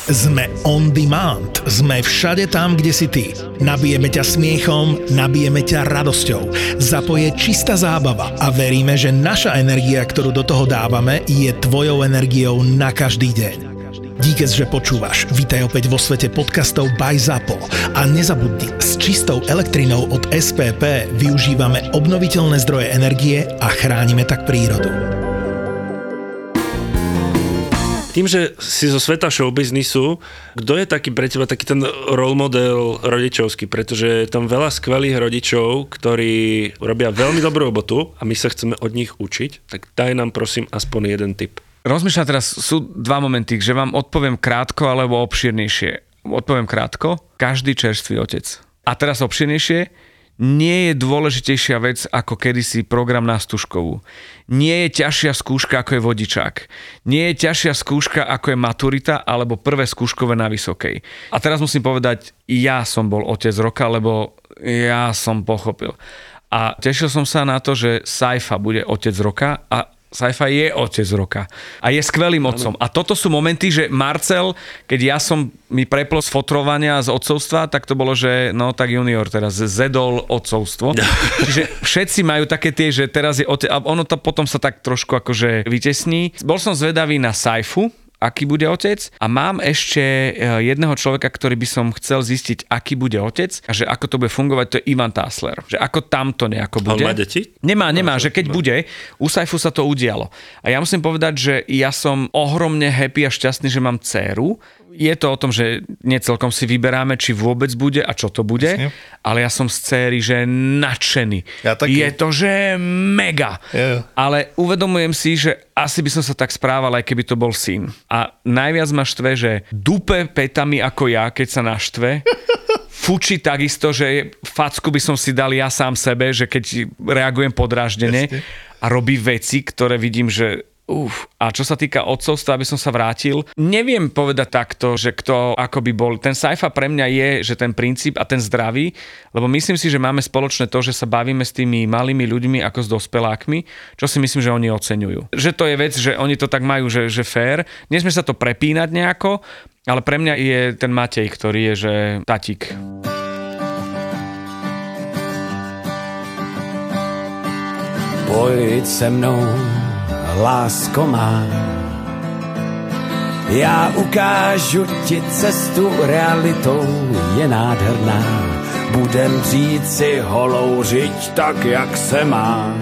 Sme on demand, sme všade tam, kde si ty. Nabijeme ťa smiechom, nabijeme ťa radosťou. Zapoje čistá zábava a veríme, že naša energia, ktorú do toho dávame, je tvojou energiou na každý deň. Díky, že počúvaš. Vítaj opäť vo svete podcastov by ZAPO. A nezabudni, s čistou elektrinou od SPP využívame obnoviteľné zdroje energie a chránime tak prírodu. Tým, že si zo sveta showbiznisu, kto je taký pre teba taký ten role model rodičovský? Pretože je tam veľa skvelých rodičov, ktorí robia veľmi dobrú robotu a my sa chceme od nich učiť. Tak daj nám prosím aspoň jeden tip. Rozmýšľam teraz, sú dva momenty, že vám odpoviem krátko alebo obšírnejšie. Odpoviem krátko, každý čerstvý otec. A teraz obšírnejšie, nie je dôležitejšia vec ako kedysi program na Stužkovú. Nie je ťažšia skúška ako je vodičák. Nie je ťažšia skúška ako je maturita alebo prvé skúškové na vysokej. A teraz musím povedať, ja som bol otec roka, lebo ja som pochopil. A tešil som sa na to, že Saifa bude otec roka a Saifa je otec roka a je skvelým otcom. A toto sú momenty, že Marcel, keď mi preplo z fotrovania z otcovstva, tak to bolo, že no tak junior teraz zedol otcovstvo. Čiže všetci majú také tie, že teraz je otec a ono to potom sa tak trošku akože vytesní. Bol som zvedavý na Saifu, aký bude otec a mám ešte jedného človeka, ktorý by som chcel zistiť, aký bude otec a že ako to bude fungovať, to je Ivan Tásler. Že ako tamto nejako bude. On má deti? Nemá, že keď bude, u Saifu sa to udialo. A ja musím povedať, že ja som ohromne happy a šťastný, že mám dcéru. Je to o tom, že necelkom si vyberáme, či vôbec bude a čo to bude, jasne. Ale ja som z céry, že nadšený. Ja taký. Je to, že mega. Yeah. Ale uvedomujem si, že asi by som sa tak správal, aj keby to bol syn. A najviac ma štve, že dupe petami ako ja, keď sa naštve, fučí takisto, že facku by som si dal ja sám sebe, že keď reagujem podráždene a robí veci, ktoré vidím, že a čo sa týka otcovstva, aby som sa vrátil, neviem povedať takto, že kto ako by bol. Ten Saifa pre mňa je, že ten princíp a ten zdravý, lebo myslím si, že máme spoločné to, že sa bavíme s tými malými ľuďmi ako s dospelákmi, čo si myslím, že oni oceňujú. Že to je vec, že oni to tak majú, že fér. Nesmie sa to prepínať nejako, ale pre mňa je ten Matej, ktorý je, že tatík. Pojď se mnou, lásko má, já ukážu ti cestu, realitou je nádherná. Budem dřít si holou řiď tak, jak se má.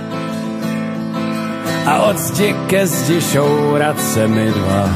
A od zdi ke zdi šourat se mi dva.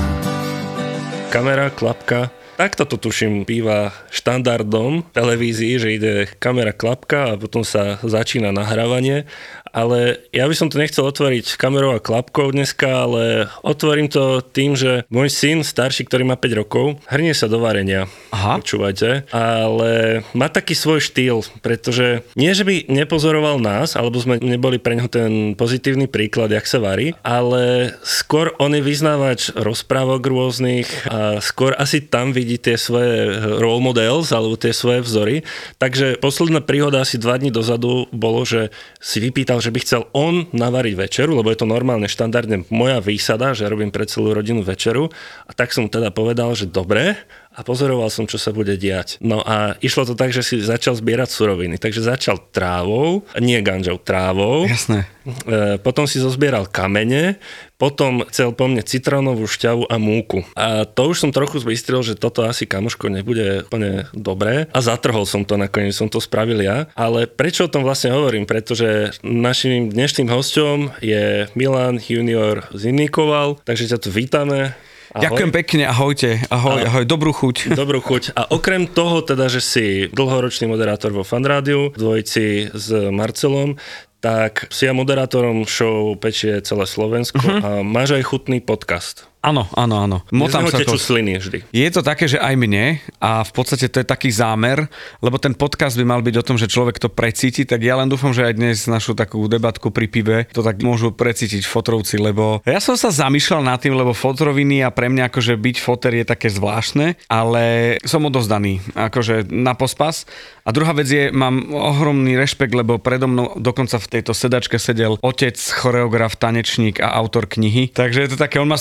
Kamera, klapka. Takto to tuším býva štandardom televízii, že ide kamera, klapka a potom sa začína nahrávanie. Ale ja by som to nechcel otvoriť kamerou a klapkou dneska, ale otvorím to tým, že môj syn starší, ktorý má 5 rokov, hrnie sa do varenia. Aha. Počúvajte. Ale má taký svoj štýl, pretože nie, že by nepozoroval nás, alebo sme neboli pre neho ten pozitívny príklad, jak sa varí, ale skôr on je vyznávač rozprávok rôznych a skôr asi tam vidí tie svoje role models, alebo tie svoje vzory. Takže posledná príhoda asi 2 dní dozadu bolo, že si vypýtal, že by chcel on navariť večeru, lebo je to normálne štandardne moja výsada, že robím pre celú rodinu večeru. A tak som mu teda povedal, že dobre, a pozoroval som, čo sa bude diať. No a išlo to tak, že si začal zbierať suroviny. Takže začal trávou, nie ganžou, trávou. Jasné. Potom si zozbieral kamene, potom chcel po mne citrónovú šťavu a múku. A to už som trochu zbystril, že toto asi kamoško nebude úplne dobré. A zatrhol som to, nakoniec som to spravil ja. Ale prečo o tom vlastne hovorím? Pretože našim dnešným hosťom je Milan Junior Zinikoval, takže ťa tu vítame. Ahoj. Ďakujem pekne, ahojte, ahoj, dobrú chuť. Dobrú chuť. A okrem toho teda, že si dlhoročný moderátor vo Fan Rádiu, v dvojici s Marcelom, tak si ja moderátorom show Pečie celé Slovensko a máš aj chutný podcast. Áno. Motám sa to. Sliny vždy. Je to také, že aj mne a v podstate to je taký zámer, lebo ten podcast by mal byť o tom, že človek to precíti, tak ja len dúfam, že aj dnes našu takú debatku pri pive to tak môžu precítiť fotrovci, lebo ja som sa zamýšľal nad tým, lebo fotroviny a pre mňa akože byť foter je také zvláštne, ale som odozdaný akože na pospas. A druhá vec je, mám ohromný rešpekt, lebo predo mnou dokonca v tejto sedačke sedel otec, choreograf, tanečník a autor knihy. Takže je to také, on má z toho knihu.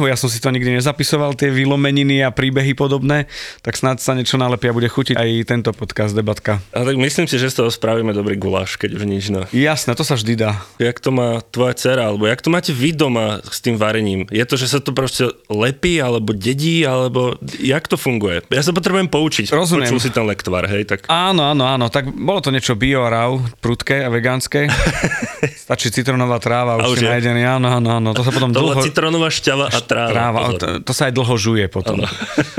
knihu, ja som si to nikdy nezapisoval, tie vylomeniny a príbehy podobné, tak snad sa niečo nalepia, bude chutiť aj tento podcast, debatka. A tak myslím si, že z toho spravíme dobrý guláš, keď už nič. No. Jasné, to sa vždy dá. Jak to má tvoja dcera, alebo jak to máte vy doma s tým varením? Je to, že sa to proste lepí, alebo dedí, alebo jak to funguje? Ja sa potrebujem poučiť. Rozumiem. Počul si ten lektvar, hej? Tak... Áno, tak bolo to niečo bio a raw, prudké a vegánske. Stačí citronová tráva, už si nájdený, áno. To sa potom to bola citronová šťava a tráva. To sa aj dlho žuje potom.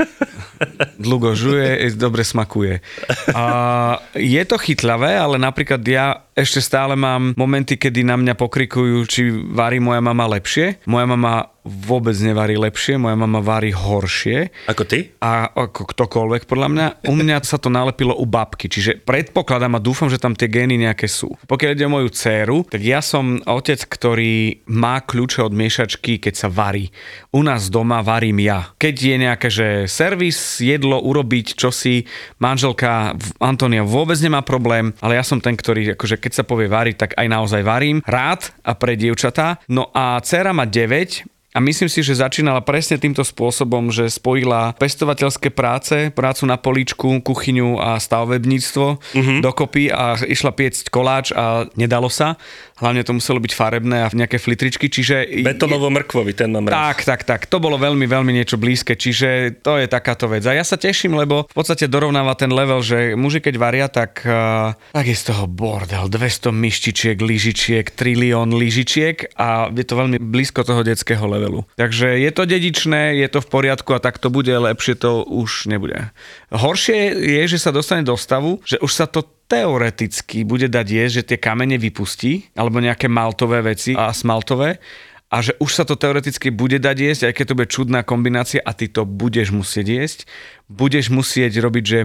Dlho žuje, dobre smakuje. A je to chytľavé, ale napríklad ja ešte stále mám momenty, kedy na mňa pokrikujú, či varí moja mama lepšie. Moja mama vôbec nevarí lepšie, moja mama varí horšie. Ako ty? A ako ktokoľvek podľa mňa. U mňa sa to nalepilo u babky, čiže predpokladám a dúfam, že tam tie gény nejaké sú. Pokiaľ ide o moju dcéru, tak ja som otec, ktorý má kľúče od miešačky, keď sa varí. U nás doma varím ja. Keď je nejaké, že servis, jedlo, urobiť čosi, manželka Antonia vôbec nemá problém, ale ja som ten, ktorý, akože keď sa povie variť, tak aj naozaj varím. Rád a pre dievčatá. No a dcéra má 9 a myslím si, že začínala presne týmto spôsobom, že spojila pestovateľské práce, prácu na políčku, kuchyňu a stavebníctvo dokopy a išla piecť koláč a nedalo sa. Hlavne to muselo byť farebné a nejaké flitričky, čiže... Betonovo-mrkvový, ten mám rád. Tak. To bolo veľmi, veľmi niečo blízke, čiže to je takáto vec. A ja sa teším, lebo v podstate dorovnáva ten level, že muži keď varia, tak je z toho bordel. 200 myštičiek, lyžičiek, trilión lyžičiek a je to veľmi blízko toho detského levelu. Takže je to dedičné, je to v poriadku a tak to bude, lepšie to už nebude. Horšie je, že sa dostane do stavu, že už sa to teoreticky bude dať jesť, že tie kamene vypustí, alebo nejaké maltové veci a smaltové, a že už sa to teoreticky bude dať jesť, aj keď to bude čudná kombinácia a ty to budeš musieť jesť. Budeš musieť robiť, že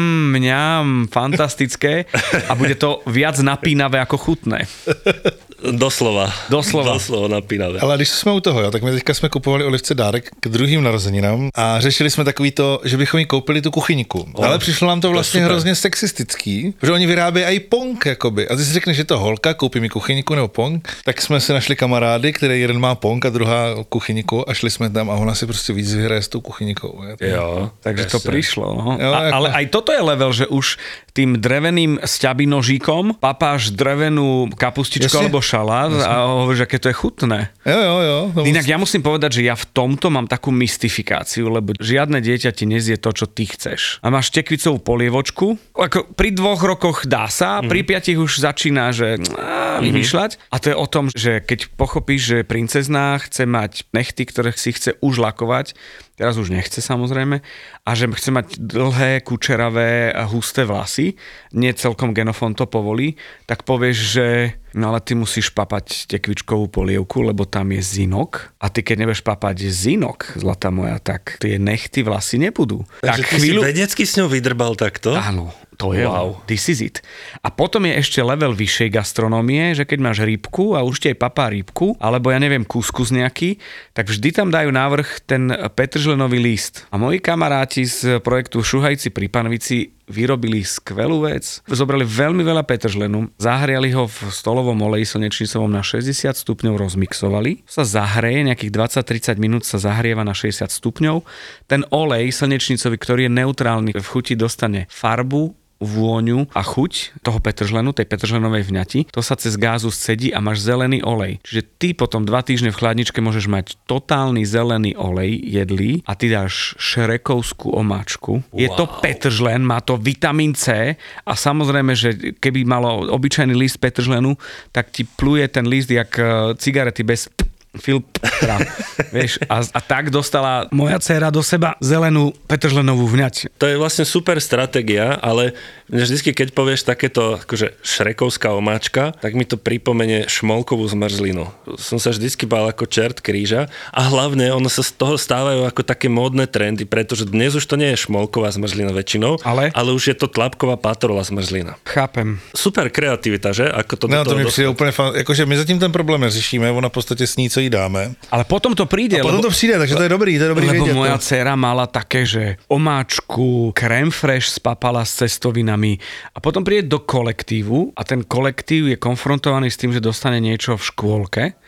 mňam, fantastické a bude to viac napínavé ako chutné. Doslova napínavé. Ale když jsme u toho, jo, tak my teďka jsme kupovali Olivce dárek k druhým narozeninám a řešili jsme takový to, že bychom jí koupili tu kuchyňku. Ale přišlo nám to vlastně hrozně sexistický, že oni vyrábějí i pong, jakoby. A ty si řekneš, že to holka, koupí mi kuchyňku nebo pong, tak jsme si našli kamarády, který jeden má pong a druhá kuchyňku a šli jsme tam a ona si prostě víc vyhraje s tou kuchyňkou. Jo, takže to prišlo. No. Jo, ale aj toto je level, že už tým dreveným sťabinožíkom papáš drevenú kapustičku alebo šalát a hovoríš, aké to je chutné. Jo. Inak ja musím povedať, že ja v tomto mám takú mystifikáciu, lebo žiadne dieťa ti nezie to, čo ty chceš. A máš tekvicovú polievočku, ako pri 2 rokoch dá sa, pri 5 už začína, že vymýšľať. A to je o tom, že keď pochopíš, že princezná chce mať nechty, ktoré si chce už lakovať, teraz už nechce samozrejme, a že chce mať dlhé, kučeravé a husté vlasy, nie celkom genofón to povolí, tak povieš, že no ale ty musíš papať tekvičkovú polievku, lebo tam je zinok a ty keď nebudeš papať zinok, zlatá moja, tak tie nechty vlasy nebudú. Takže ty si vedecky s ňou vydrbal takto? Áno. To je, this is it. A potom je ešte level vyššej gastronómie, že keď máš rybku a už ti aj papá rybku, alebo ja neviem, kuskus nejaký, tak vždy tam dajú návrh ten petržlenový list. A moji kamaráti z projektu Šuhajci pri Panvici vyrobili skvelú vec. Zobrali veľmi veľa petržlenu, zahriali ho v stolovom oleji slnečnicovom na 60 stupňov, rozmixovali. Sa zahreje, nejakých 20-30 minút sa zahrieva na 60 stupňov. Ten olej slnečnicový, ktorý je neutrálny v chuti, dostane farbu, vôňu a chuť toho petržlenu, tej petržlenovej vňati, to sa cez gázu scedí a máš zelený olej. Čiže ty potom 2 týždne v chladničke môžeš mať totálny zelený olej jedlý a ty dáš šrekovskú omáčku. Wow. Je to petržlen, má to vitamín C a samozrejme, že keby malo obyčajný list petržlenu, tak ti pluje ten list jak cigarety bez filtra. Vieš, a tak dostala moja dcéra do seba zelenú petržlenovú vňať. To je vlastne super stratégia, ale vždycky, keď povieš takéto akože šrekovská omáčka, tak mi to pripomenie šmolkovú zmrzlinu. Som sa vždycky bál ako čert kríža a hlavne ono sa z toho stávajú ako také módne trendy, pretože dnes už to nie je šmolková zmrzlina väčšinou, ale už je to tlapková patrola zmrzlina. Chápem. Super kreativita, že? Ako to no to mi přijde úplně jakože my zatím ten problém neřešíme, ona v podstatě sní, co jí dáme. Ale potom to príde. Potom to přijde, takže to je dobrý lebo vědět. Lebo moja dcéra mala také, že omáčku, crème fraîche spapala s cestovinami a potom príde do kolektívu a ten kolektív je konfrontovaný s tým, že dostane niečo v škôlke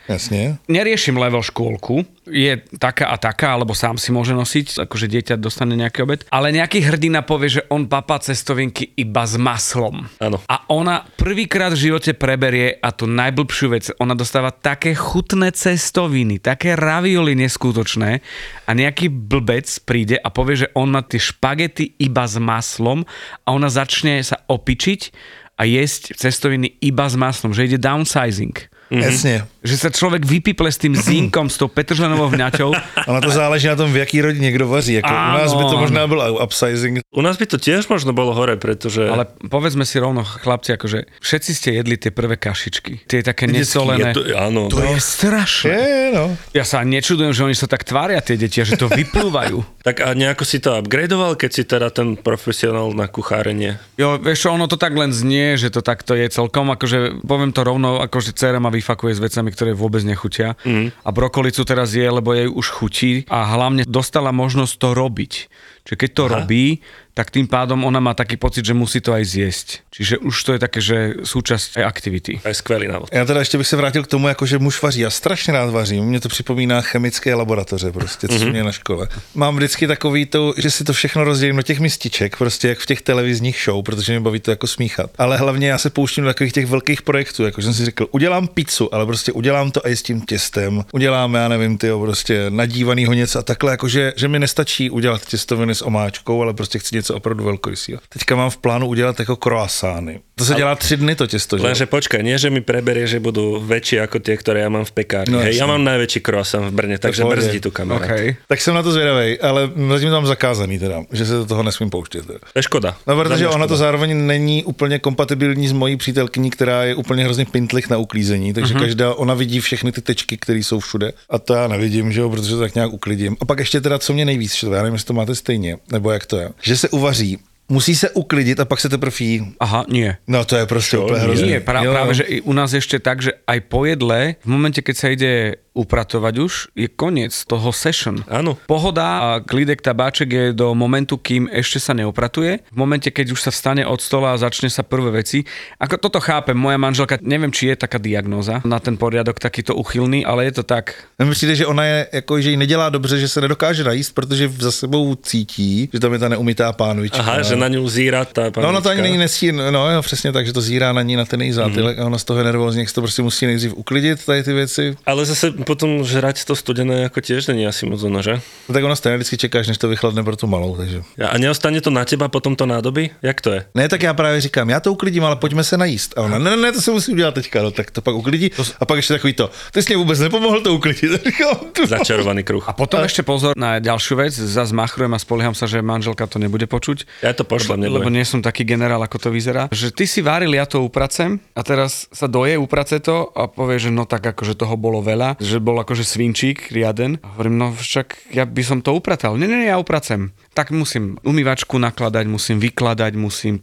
Jasne. Neriešim level škôlku, je taká a taká, alebo sám si môže nosiť, akože dieťa dostane nejaký obed, ale nejaký hrdina povie, že on papá cestovinky iba s maslom. Áno. A ona prvýkrát v živote preberie a tú najblbšiu vec, ona dostáva také chutné cestoviny, také ravioli neskutočné a nejaký blbec príde a povie, že on má tie špagety iba s maslom a ona začne sa opičiť a jesť cestoviny iba s maslom, že ide downsizing. Jasne. Že sa človek vypiple s tým zínkom, s tou petržlenovou vňaťou. Ono to záleží na tom, v jaký rodine kdo vaří. Jako u nás by to možná byl upsizing. U nás by to tiež možno bolo hore, pretože... Ale povedzme si rovno, chlapci, akože všetci ste jedli tie prvé kašičky. Tie také nesolené. Áno. To je strašné. Je, no. Ja sa nečudujem, že oni sa tak tvária, tie deti, že to vyplúvajú. Tak a nejako si to upgradeoval, keď si teda ten profesionál na kuchárenie? Jo, vieš čo, ono to tak len znie, že to takto je celkom, akože poviem to rovno, akože dcera ma vyfakuje s vecami, ktoré vôbec nechutia. A brokolicu teraz je, lebo jej už chutí a hlavne dostala možnosť to robiť. Čiže keď to robí, tak tým pádom ona má taký pocit, že musí to aj zjesť. Čiže už to je také, že súčasť aj aktivity. To je skvelý návod. Já teda ještě bych se vrátil k tomu, jako že muž vaří. Já strašně rád vařím. Mně to připomíná chemické laboratoře, prostě, co mě na škole. Mám vždycky takový to, že si to všechno rozdělím do těch mističek, prostě jak v těch televizních show, protože mě baví to jako smíchat. Ale hlavně já se pouštím do takových těch velkých projektů, jako jsem si řekl, udělám pizzu, ale prostě udělám to i s tím těstem. Udělám, já nevím, prostě nadívanýho něco a takhle, jakože že mi nestačí udělat těstoviny s omáčkou, ale prostě chci něco opravdu velkorysého. Teďka mám v plánu udělat jako croissány. To se dělá 3 dny to těsto, že? Lenže počkaj, nie že mi preberie, že budú väčšie ako tie, ktoré ja mám v pekárni. No, hej, ja mám najväčší croissant v Brne, takže brzdí tu kamera. Okay. Tak jsem na to zvědavej, ale zatím to mám zakázaný teda, že se do toho nesmím pouštět. Teda. To je škoda. No, protože ona to zároveň není úplně kompatibilní s mojí přítelkyní, která je úplně hrozně pintlich na uklízení, takže každá, ona vidí všechny ty tečky, které jsou všude. A to já nevidím, že jo, protože to tak nějak uklidím. A pak ještě teda, co mě nejvíc štve, já nevím, jestli to máte stejně, nebo jak to je, že se uvaří, musí se uklidit a pak se teprve jí. Aha, nie. No to je prostě úplně hrozné. Nie, práve, že u nás ešte tak, že aj po jedle, v momente, keď sa ide upratovať už, je koniec toho session. Áno. Pohoda a klídek tabáček je do momentu, kým ešte sa neupratuje. V momente, keď už sa vstane od stola a začne sa prvé veci. Ako toto chápem, moja manželka, neviem, či je taká diagnóza na ten poriadok takýto uchylný, ale je to tak. Mně přijde, že ona je, jako, že jí nedělá dobře, že se nedokáže najíst, protože za sebou cítí, že tam je ta neumytá pánvička. Aha, že na ňu zíra tá pánvička. No, ona to ani není nesí, no, přesně tak, že to zírá na ní na ten její zátylek a ona z toho je nervózní, jak se to prostě musí nejdřív uklidit, tady ty věci. Ale zase potom žrať to studené ako tiež není asi moc ono, že? No, tak ona stejně vždycky čekáš, než to vychladne pro tu malou, takže. A neostane to na teba potom to nádobí? Jak to je? Ne, tak já právě říkám, já to uklidím, ale pojďme se najíst. A ona, ne, to se musí udělat teďka, no, tak to pak uklidí. A pak ještě takový to, ty jsi mě vůbec nepomohl to uklidit. Začarovaný kruh. A potom ešte pozor na ďalšiu vec, zase machrujem a spolieham sa, že manželka to nebude počuť. Ja to pošlem, lebo nie som taký generál, ako to vyzerá. Že ty si varil, ja to upracem a teraz sa doje, uprace to a povie, že no tak akože toho bolo veľa, že bol akože svinčík riaden. A hovorím, no však ja by som to upratal. Nie, ja upracem. Tak musím umývačku nakladať, musím vykladať, musím,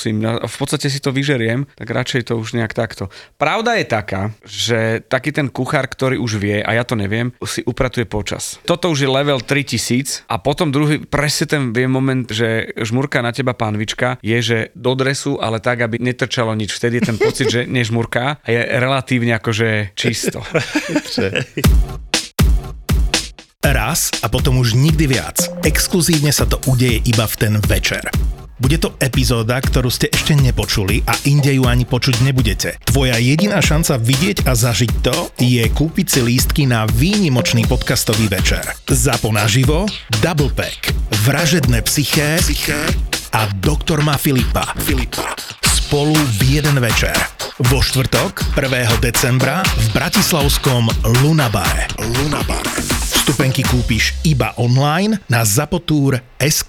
v podstate si to vyžeriem, tak radšej to už nejak takto. Pravda je taká, že taký ten kuchár, ktorý už vie, a ja to neviem, si upratuje počas. Toto už je level 3000 a potom druhý, presne ten vie moment, že žmurká na teba pánvička, je, že do dresu, ale tak, aby netrčalo nič. Vtedy je ten pocit, že nežmurká a je relatívne akože čisto. Raz a potom už nikdy viac. Exkluzívne sa to udeje iba v ten večer. Bude to epizóda, ktorú ste ešte nepočuli a inde ju ani počuť nebudete. Tvoja jediná šanca vidieť a zažiť to je kúpiť si lístky na výnimočný podcastový večer. ZAPO naživo, Double Pack, Vražedné psyché a Doktor má Filipa. Spolu v jeden večer. Vo štvrtok, 1. decembra v bratislavskom Lunabare. Vstupenky kúpiš iba online na zapotur.sk.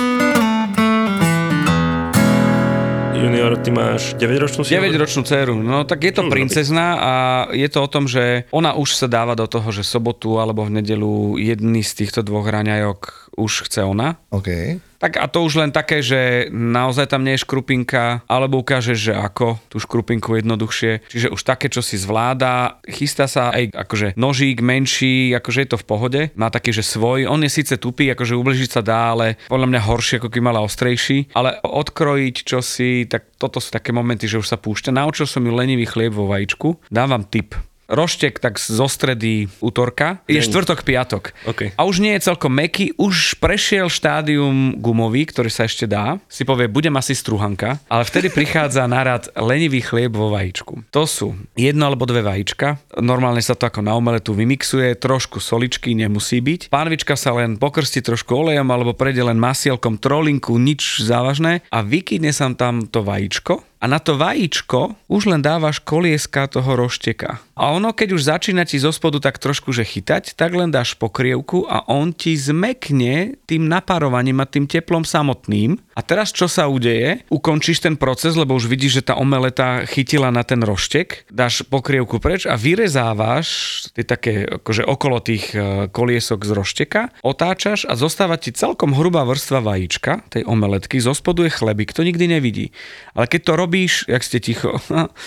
Junior, ty máš 9-ročnú dceru? 9-ročnú dceru. No tak je to princezná a je to o tom, že ona už sa dáva do toho, že sobotu alebo v nedeľu jedný z týchto dvoch raňajok už chce ona. OK. Tak a to už len také, že naozaj tam nie je škrupinka, alebo ukážeš, že ako tú škrupinku jednoduchšie. Čiže už také, čo si zvláda, chystá sa aj akože nožík menší, akože je to v pohode. Má taký, že svoj. On je síce tupý, akože ubližiť sa dá, ale podľa mňa horšie, ako keď mala ostrejší. Ale odkrojiť čosi, tak toto sú také momenty, že už sa púšťa. Naučil som ju lenivý chlieb vo vajíčku. Dávam tip. roštek tak zo stredy útorka, je štvrtok, piatok. Okay. A už nie je celkom mäkký, už prešiel štádium gumový, ktorý sa ešte dá. Si povie, budem asi struhanka, ale vtedy prichádza na rad lenivý chlieb vo vajíčku. To sú 1 alebo 2 vajíčka. Normálne sa to ako na omeletu vymixuje, trošku soličky nemusí byť. Pánvička sa len pokrstí trošku olejom alebo prejde len masielkom, trolinku, nič závažné a vykydne sa tam to vajíčko. A na to vajíčko už len dávaš kolieska toho rošteka. A ono, keď už začína ti zo spodu tak trošku že chytať, tak len dáš pokrievku a on ti zmekne tým napárovaním a tým teplom samotným. A teraz čo sa udeje? Ukončíš ten proces, lebo už vidíš, že tá omeleta chytila na ten roštek, dáš pokrievku preč a vyrezávaš tie také akože okolo tých koliesok z rošteka, otáčaš a zostáva ti celkom hrubá vrstva vajíčka, tej omeletky, zo spodu je chlebík, to nikdy nevidí. Ale keď to robíš, jak ste ticho.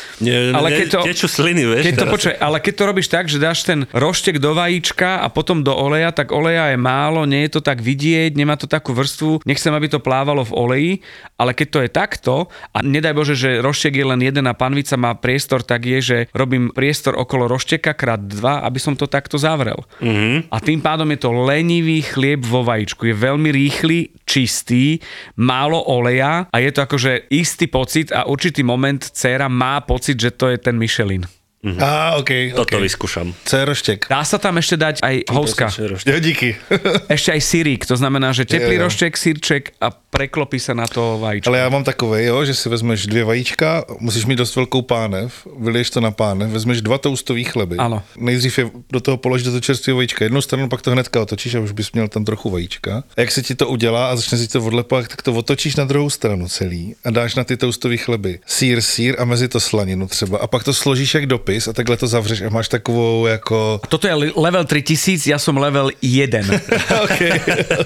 Tečú sliny, vieš. Ale keď to robíš tak, že dáš ten roštek do vajíčka a potom do oleja, tak oleja je málo, nie je to tak vidieť, nemá to takú vrstvu, nechcem, aby to plávalo v oleji, ale keď to je takto a nedaj Bože, že roštek je len jeden a panvica má priestor, tak je, že robím priestor okolo rošteka krát 2, aby som to takto zavrel. Mm-hmm. A tým pádom je to lenivý chlieb vo vajíčku. Je veľmi rýchly, čistý, málo oleja a je to akože istý pocit a určitý moment dcéra má pocit, že to je ten Michelin. Okay. Toto vyskúšam. Co je roštek? Dá sa tam ešte dať aj houska. Jo, díky. Ešte aj syrík, to znamená, že teplý roštek, syrček a preklopí sa na to vajíčko. Ale já mám takové, jo, že si vezmeš 2 vajíčka, musíš mít dost velkou pánev, vyliješ to na pánev, vezmeš 2 toastový chleby. Ano. Nejdřív je do toho položíš do toho čerstvého vajíčka jednu stranu, pak to hnedka otočíš a už bys měl tam trochu vajíčka. A jak se ti to udělá a začne si to odlepovat, tak to otočíš na druhou stranu celý a dáš na ty toastový chleby sýr a mezi to slaninu třeba a pak to složíš jak dopis a takhle to zavřeš a máš takovou jako... Toto je level 3000, ja som level 1. okay.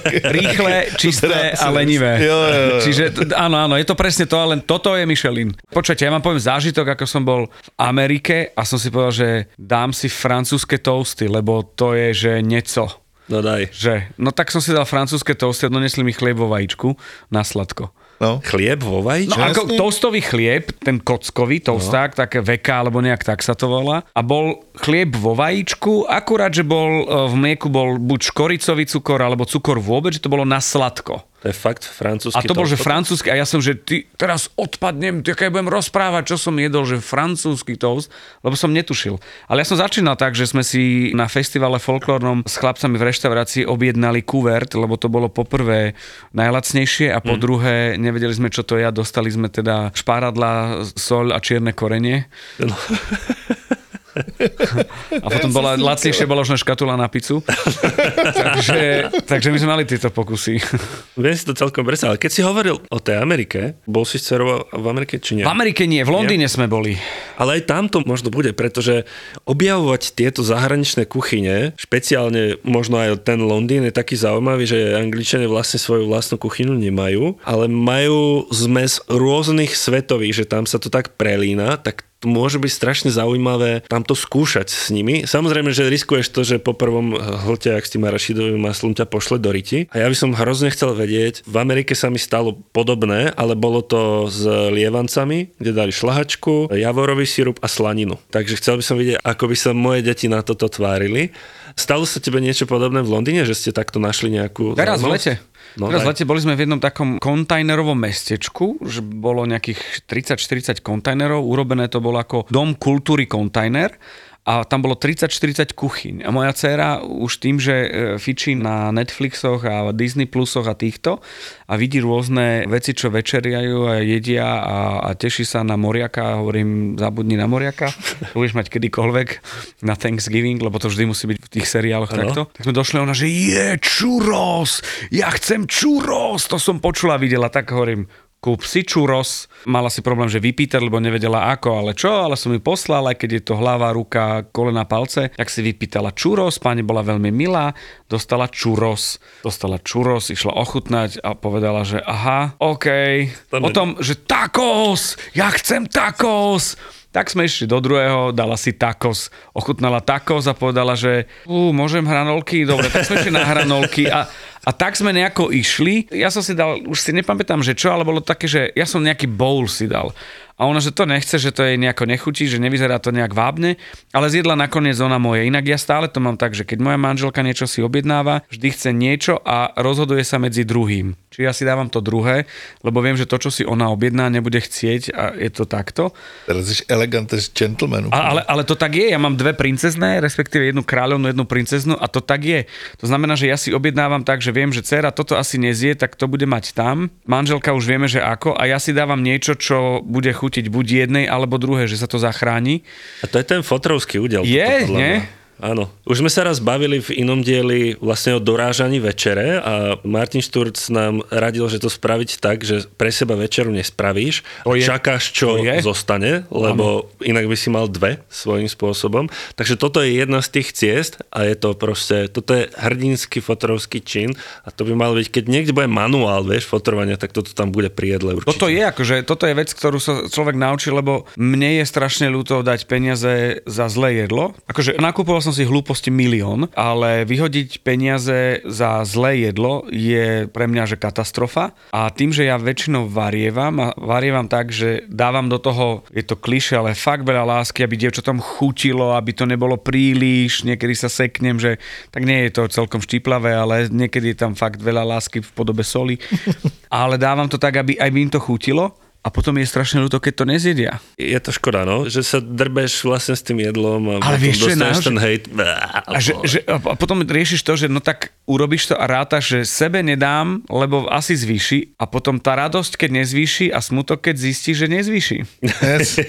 Rýchle, čisté a lenivé. Jo. Čiže áno, je to presne to, ale toto je Michelin. Počujte, ja vám poviem zážitok, ako som bol v Amerike a som si povedal, že dám si francúzske toasty, lebo to je, že nieco. No daj. No tak som si dal francúzske toasty a donesli mi chlieb vo vajíčku na sladko. No. Chlieb vo vajíčku? No ako toastový chlieb, ten kockový toasták, také veka, alebo nejak tak sa to volá. A bol chlieb vo vajíčku, akurát, že bol v mlieku bol buď škoricový cukor, alebo cukor vôbec, že to bolo na sladko. To je fakt francúzsky. A to bol, že francúzsky, a ja som, že ty teraz odpadnem, keď budem rozprávať, čo som jedol, že francúzsky toast, lebo som netušil. Ale ja som začínal tak, že sme si na festivale folklórnom s chlapcami v reštaurácii objednali kuvert, lebo to bolo poprvé najlacnejšie a po druhé nevedeli sme, čo to je a dostali sme teda šparadla, soľ a čierne korenie. No. A potom lacnejšie bola už škatula na pizzu. takže my sme mali tieto pokusy. Viem si to celkom predstaviť, ale keď si hovoril o tej Amerike, bol si s dcerou v Amerike, či nie? V Amerike nie, v Londýne sme boli. Ale aj tam to možno bude, pretože objavovať tieto zahraničné kuchyne, špeciálne možno aj ten Londýn je taký zaujímavý, že Angličania vlastne svoju vlastnú kuchynu nemajú, ale majú zmes rôznych svetových, že tam sa to tak prelína, tak to môže byť strašne zaujímavé tam to skúšať s nimi. Samozrejme, že riskuješ to, že po prvom hlte, ak s tým arašidovým maslom ťa pošle do riti. A ja by som hrozne chcel vedieť, v Amerike sa mi stalo podobné, ale bolo to s lievancami, kde dali šlahačku, javorový sirup a slaninu. Takže chcel by som vidieť, ako by sa moje deti na toto tvárili. Stalo sa tebe niečo podobné v Londýne, že ste takto našli nejakú... Teraz v lete. No, Teraz v lete boli sme v jednom takom kontajnerovom mestečku, že bolo nejakých 30-40 kontajnerov, urobené to bolo ako dom kultúry kontajner a tam bolo 30-40 kuchyň. A moja dcéra už tým, že fičí na Netflixoch a Disney Plusoch a týchto a vidí rôzne veci, čo večeriajú a jedia a teší sa na moriaka, hovorím, zabudni na moriaka, to budeš mať kedykoľvek na Thanksgiving, lebo to vždy musí byť v tých seriáloch takto. Tak sme došli ona, že churros, ja chcem churros, to som počula a videla, tak hovorím, kúp si churros. Mala si problém, že vypýtať, lebo nevedela ako, ale čo, ale som ju poslal, aj keď je to hlava, ruka, kolena, palce, tak si vypýtala churros, pani bola veľmi milá, dostala churros, išla ochutnať a povedala, že aha, okej. Potom, že tacos, ja chcem tacos. Tak sme išli do druhého, dala si tacos, ochutnala tacos a povedala, že môžem hranolky? Dobre, tak sme išli na hranolky a A tak sme nejako išli. Ja som si dal, už si nepamätám, že čo, ale bolo také, že ja som nejaký bowl si dal. A ona, že to nechce, že to jej nejako nechutí, že nevyzerá to nejak vábne, ale zjedla nakoniec ona moje. Inak ja stále to mám tak, že keď moja manželka niečo si objednáva, vždy chce niečo a rozhoduje sa medzi druhým. Čiže ja si dávam to druhé, lebo viem, že to, čo si ona objedná, nebude chcieť a je to takto. Ale jsi elegant gentleman. Ale to tak je, ja mám dve princezné, respektíve jednu kráľovnú, jednu princeznú a to tak je. To znamená, že ja si objednávam tak, že viem, že dcéra toto asi nezie, tak to bude mať tam. Manželka už vieme, že ako a ja si dávam niečo, čo bude chutiť buď jednej alebo druhé, že sa to zachráni. A to je ten fotrovský údel. Je, nie? Áno. Už sme sa raz bavili v inom dieli vlastne o dorážaní večere a Martin Šturc nám radil, že to spraviť tak, že pre seba večeru nespravíš, čakáš, čo zostane, lebo inak by si mal dve svojím spôsobom. Takže toto je jedna z tých ciest a je to proste, toto je hrdinský fotrovský čin a to by malo byť, keď niekde bude manuál, vieš, fotrovania, tak toto tam bude pri jedle určite. Toto je vec, ktorú sa človek naučí, lebo mne je strašne ľúto dať peniaze za zlé jedlo. Akože nakúpoval som si hlúposti milión, ale vyhodiť peniaze za zlé jedlo je pre mňa že katastrofa. A tým, že ja väčšinou varievam tak, že dávam do toho, je to klišé, ale fakt veľa lásky, aby dievčatom chutilo, aby to nebolo príliš, niekedy sa seknem, že tak nie je to celkom štíplavé, ale niekedy je tam fakt veľa lásky v podobe soli. Ale dávam to tak, aby aj im to chutilo. A potom je strašne ľúto, keď to nezjedia. Je to škoda, no? Že sa drbeš vlastne s tým jedlom a ale potom vieš, dostaneš ten hejt. A potom riešiš to, že no tak urobíš to a rátaš, že sebe nedám, lebo asi zvýši a potom tá radosť, keď nezvýši a smutok, keď zistíš, že nezvýši. Yes.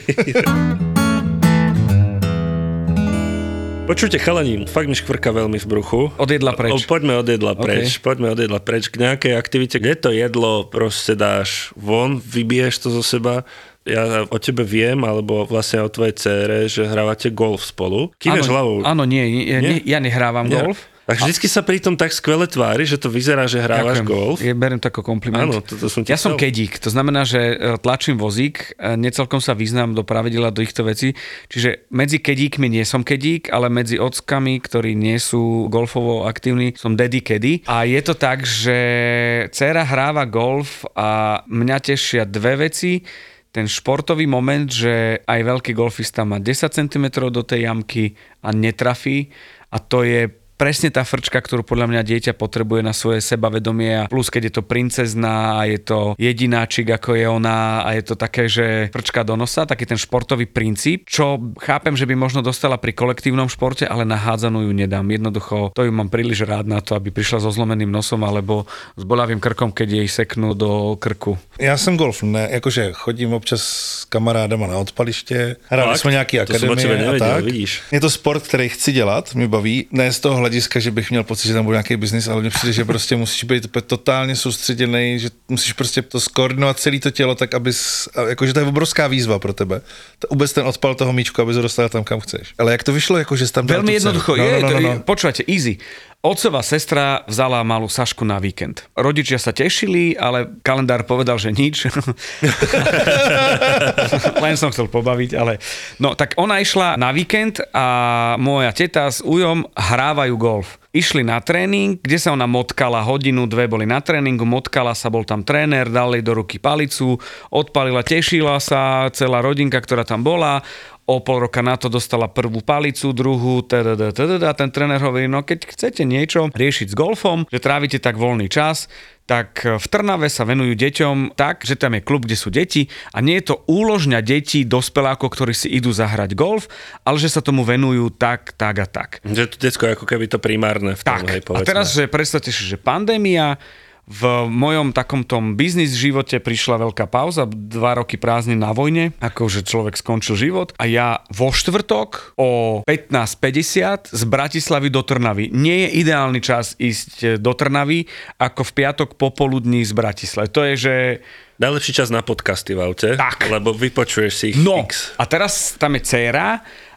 Počujte, chalani, fakt mi škvrka veľmi v bruchu. Od jedla preč. Poďme od jedla preč k nejakej aktivite, kde to jedlo proste dáš von, vybiješ to zo seba. Ja o tebe viem, alebo vlastne o tvojej dcére, že hrávate golf spolu. Kýveš hlavou. Áno, nie, ja nehrávam golf. Tak vždycky sa pri tom tak skvele tvári, že to vyzerá, že hrávaš golf. Beriem to ako kompliment. Áno, to som ja som kedík, to znamená, že tlačím vozík, necelkom sa vyznám do pravidela do týchto vecí, čiže medzi kedíkmi nie som kedík, ale medzi ockami, ktorí nie sú golfovo aktívni, som daddy kedy. A je to tak, že dcéra hráva golf a mňa tešia dve veci. Ten športový moment, že aj veľký golfista má 10 cm do tej jamky a netrafí a to je presne tá frčka, ktorú podľa mňa dieťa potrebuje na svoje sebavedomie a plus keď je to princezná a je to jedináčik ako je ona a je to také, že frčka do nosa, taký ten športový princíp, čo chápem, že by možno dostala pri kolektívnom športe, ale na hádzanú ju nedám. Jednoducho to ju mám príliš rád na to, aby prišla so zlomeným nosom alebo s bolavým krkom, keď jej seknú do krku. Já jsem golf, ne, jakože chodím občas s kamarádama na odpaliště, hráli jsme nějaký akademie a tak. Vidíš. Je to sport, který chci dělat, mě baví, ne z toho hlediska, že bych měl pocit, že tam bude nějaký biznis, ale mně přijde, že prostě musíš být totálně soustředěný, že musíš prostě to skoordinovat celé to tělo tak, abys, jakože to je obrovská výzva pro tebe. Vůbec ten odpal toho míčku, aby se dostal tam, kam chceš. Ale jak to vyšlo, jakože jsi tam dal veľmi jednoducho, no. Počúvate, easy. Otcová sestra vzala malú Sašku na víkend. Rodičia sa tešili, ale kalendár povedal, že nič. Len som chcel pobaviť, ale... No, tak ona išla na víkend a moja teta s ujom hrávajú golf. Išli na tréning, kde sa ona motkala, hodinu, dve boli na tréningu, motkala sa, bol tam tréner, dal jej do ruky palicu, odpalila, tešila sa, celá rodinka, ktorá tam bola. O pol roka na to dostala prvú palicu, druhú, a ten tréner hovorí, no keď chcete niečo riešiť s golfom, že trávite tak voľný čas, tak v Trnave sa venujú deťom tak, že tam je klub, kde sú deti a nie je to úložňa detí, dospelákov, ktorí si idú zahrať golf, ale že sa tomu venujú tak a tak. Že to decko ako keby to primárne v tom, hej, povedzme. A teraz, že predstavte si, že pandémia, v mojom takomto biznis živote prišla veľká pauza, 2 roky prázdnin na vojne, akože človek skončil život a ja vo štvrtok o 15:50 z Bratislavy do Trnavy. Nie je ideálny čas ísť do Trnavy ako v piatok popoludní z Bratislavy. To je, že... Najlepší čas na podcasty v aute, tak. Lebo vypočuješ si ich No, x. a teraz tam je dcéra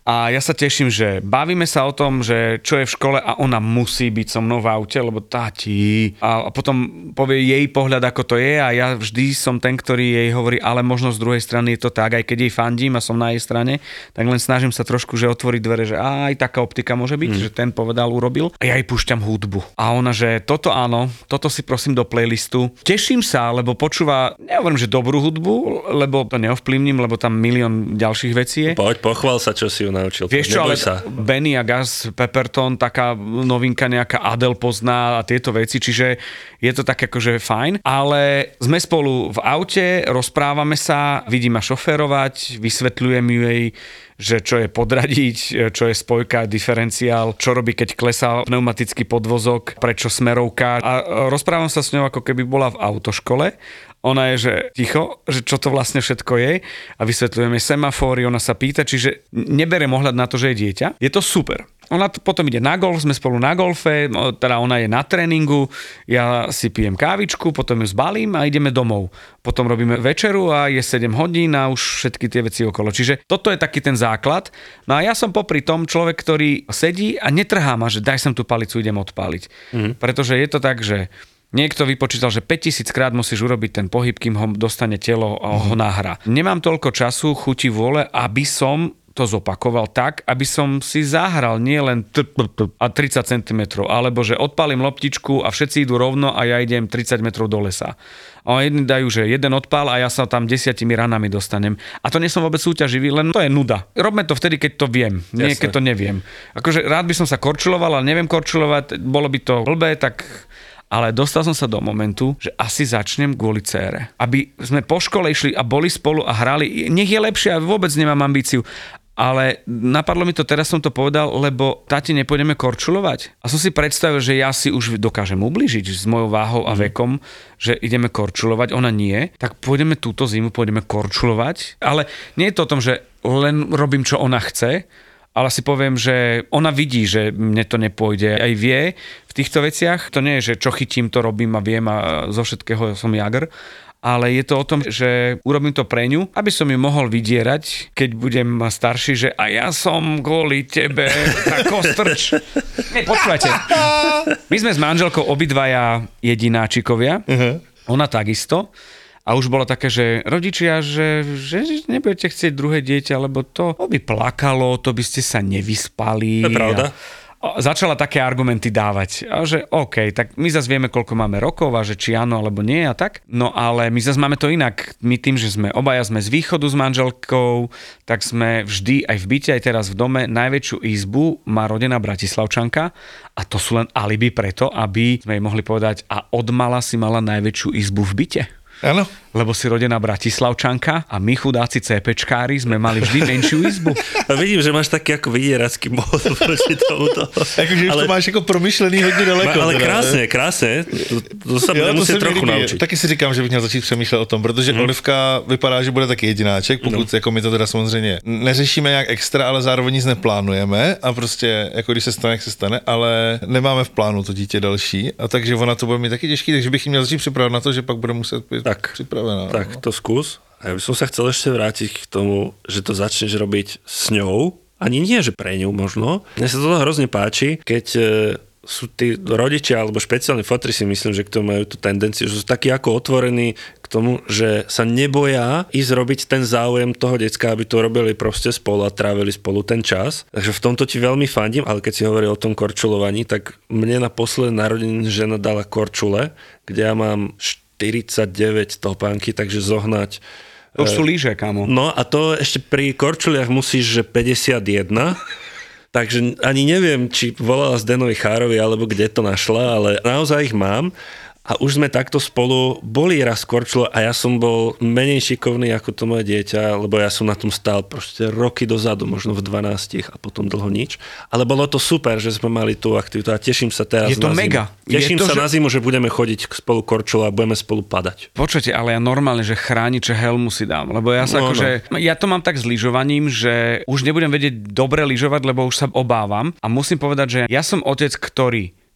A ja sa teším, že bavíme sa o tom, že čo je v škole a ona musí byť so mnou v aute, lebo tati. A potom povie jej pohľad, ako to je a ja vždy som ten, ktorý jej hovorí, ale možno z druhej strany je to tak, aj keď jej fandím a som na jej strane, tak len snažím sa trošku, že otvoriť dvere, že aj taká optika môže byť, že ten povedal, urobil. A ja jej púšťam hudbu. A ona, že toto áno, toto si prosím do playlistu. Teším sa, lebo počúva, nehovorím, že dobrú hudbu, lebo to neovplyvním, lebo tam milión ďalších vecí je. Poď, pochvál sa, čo si ju naučil. Vieš čo, ale sa. Benny a Gus, Pepperton, taká novinka nejaká Adele pozná a tieto veci, čiže je to tak akože fajn, ale sme spolu v aute, rozprávame sa, vidím ma šoférovať, vysvetľujem jej, že čo je podradiť, čo je spojka, diferenciál, čo robí, keď klesá pneumatický podvozok, prečo smerovka. A rozprávam sa s ňou, ako keby bola v autoškole. Ona je, že ticho, že čo to vlastne všetko je a vysvetľujeme semafóry, ona sa pýta, čiže neberiem ohľad na to, že je dieťa. Je to super. Ona potom ide na golf, sme spolu na golfe, teda ona je na tréningu, ja si pijem kávičku, potom ju zbalím a ideme domov. Potom robíme večeru a je 7 hodín a už všetky tie veci okolo. Čiže toto je taký ten základ. No a ja som popri tom človek, ktorý sedí a netrhá ma, že daj sem tú palicu, idem odpáliť. Pretože je to tak, že niekto vypočítal, že 5000 krát musíš urobiť ten pohyb, kým ho dostane telo a ho nahrá. Nemám toľko času, chuti, vôle, aby som to zopakoval tak, aby som si zahral nie len a 30 cm, alebo že odpálim loptičku a všetci idú rovno a ja idem 30 metrov do lesa. A jedni dajú, že jeden odpál a ja sa tam 10 ranami dostanem. A to nie som vôbec súťaživý, len to je nuda. Robme to vtedy, keď to viem, nie keď to neviem. Akože rád by som sa korčuloval, ale neviem korčulovať, bolo by to blbé, tak... Ale dostal som sa do momentu, že asi začnem kvôli dcére. Aby sme po škole išli a boli spolu a hrali. Nech je lepšie, a vôbec nemám ambíciu. Ale napadlo mi to, teraz som to povedal, lebo tati, nepôjdeme korčulovať. A som si predstavil, že ja si už dokážem ublížiť s mojou váhou a vekom, že ideme korčulovať, ona nie. Tak pôjdeme túto zimu, pôjdeme korčulovať. Ale nie je to o tom, že len robím, čo ona chce, ale si poviem, že ona vidí, že mne to nepôjde. Aj vie v týchto veciach. To nie je, že čo chytím, to robím a viem a zo všetkého som jagr. Ale je to o tom, že urobím to pre ňu, aby som ju mohol vydierať, keď budem starší, že a ja som kvôli tebe tak kostrč. Nie, počúvajte. My sme s manželkou obidvaja jedináčikovia. Ona takisto. A už bolo také, že rodičia, že nebudete chcieť druhé dieťa, lebo to by plakalo, to by ste sa nevyspali. To je pravda. A začala také argumenty dávať. A že OK, tak my zase vieme, koľko máme rokov a že či áno alebo nie a tak. No ale my zase máme to inak. My tým, že sme obaja sme z východu s manželkou, tak sme vždy aj v byte, aj teraz v dome, najväčšiu izbu má rodená Bratislavčanka a to sú len alibi preto, aby sme jej mohli povedať a odmala si mala najväčšiu izbu v byte. Áno. Lebo si rodená Bratislavčanka a my chudáci CPčkári sme mali vždy menšiu izbu. A vidím, že máš taký ako vydieracký mód proti tomuto. Akože už to máš ako promyšlený hodně daleko. Ale krásne. To sa bude musieť trochu naučiť. Taky si říkám, že bych měl začít přemýšlet o tom, protože Olivka vypadá, že bude taky jedináček, pokud jako my to teda samozřejmě neřešíme nějak extra, ale zároveň nic neplánujeme a prostě jako když se stane, jak se stane, ale nemáme v plánu to dítě další a takže ona to bude mít taky těžký, takže bych jí měl začít připravovat na to, že pak bude muset být připravená. Tak to skús. A ja by som sa chcel ešte vrátiť k tomu, že to začneš robiť s ňou. Ani nie, že pre ňu možno. Mne sa to hrozne páči, keď sú tí rodičia alebo špeciálni fotri, si myslím, že k tomu majú tú tendenciu, že sú takí ako otvorení k tomu, že sa neboja ísť robiť ten záujem toho decka, aby to robili proste spolu a trávili spolu ten čas. Takže v tomto ti veľmi fandím, ale keď si hovoril o tom korčulovaní, tak mne na posledné narodeniny žena dala korčule, kde ja mám 49 topánky, takže zohnať. To už sú lyže, kámo. No a to ešte pri korčuliach musíš, že 51. Takže ani neviem, či volala Zdenovi Chárovi, alebo kde to našla, ale naozaj ich mám. A už sme takto spolu boli raz korčulo a ja som bol menej šikovný ako to moje dieťa, lebo ja som na tom stál proste roky dozadu, možno v 12 a potom dlho nič. Ale bolo to super, že sme mali tú aktivitu a teším sa teraz je to na mega. Zimu. Teším sa na zimu, že budeme chodiť spolu korčulo a budeme spolu padať. Počujete, ale ja normálne, že chrániče helmu si dám, lebo ja sa ja to mám tak s lyžovaním, že už nebudem vedieť dobre lyžovať, lebo už sa obávam a musím povedať, že ja som otec, ktorý